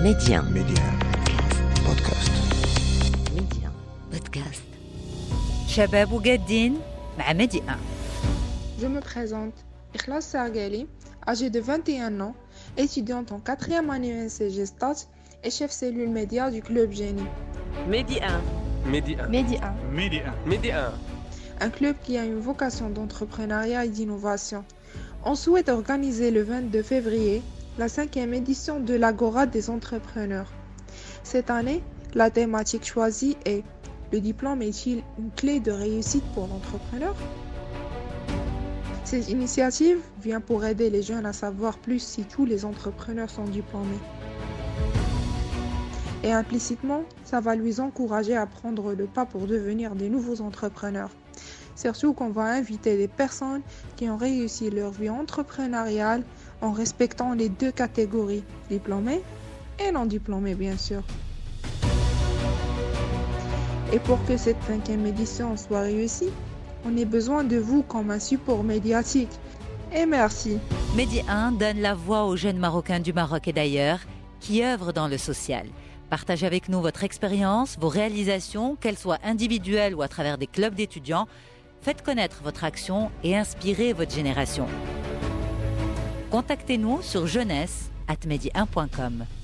Média بودكاست. ميديا بودكاست. شباب وجادين مع ميديا. Je me présente, Ikhlas Sargali, âgée de 21 ans, étudiante en 4e année UNCG Stats et chef cellule média du club Génie. Média. Un club qui a une vocation d'entrepreneuriat et d'innovation. On souhaite organiser le 22 février la 5e édition de l'Agora des entrepreneurs. Cette année, la thématique choisie est « Le diplôme est-il une clé de réussite pour l'entrepreneur ?» Cette initiative vient pour aider les jeunes à savoir plus si tous les entrepreneurs sont diplômés. Et implicitement, ça va les encourager à prendre le pas pour devenir des nouveaux entrepreneurs. Surtout qu'on va inviter des personnes qui ont réussi leur vie entrepreneuriale en respectant les deux catégories, diplômés et non diplômés bien sûr. Et pour que cette 5e édition soit réussie, on a besoin de vous comme un support médiatique. Et merci. Média 1 donne la voix aux jeunes Marocains du Maroc et d'ailleurs qui œuvrent dans le social. Partagez avec nous votre expérience, vos réalisations, qu'elles soient individuelles ou à travers des clubs d'étudiants. Faites connaître votre action et inspirez votre génération. Contactez-nous sur jeunesse@media1.com.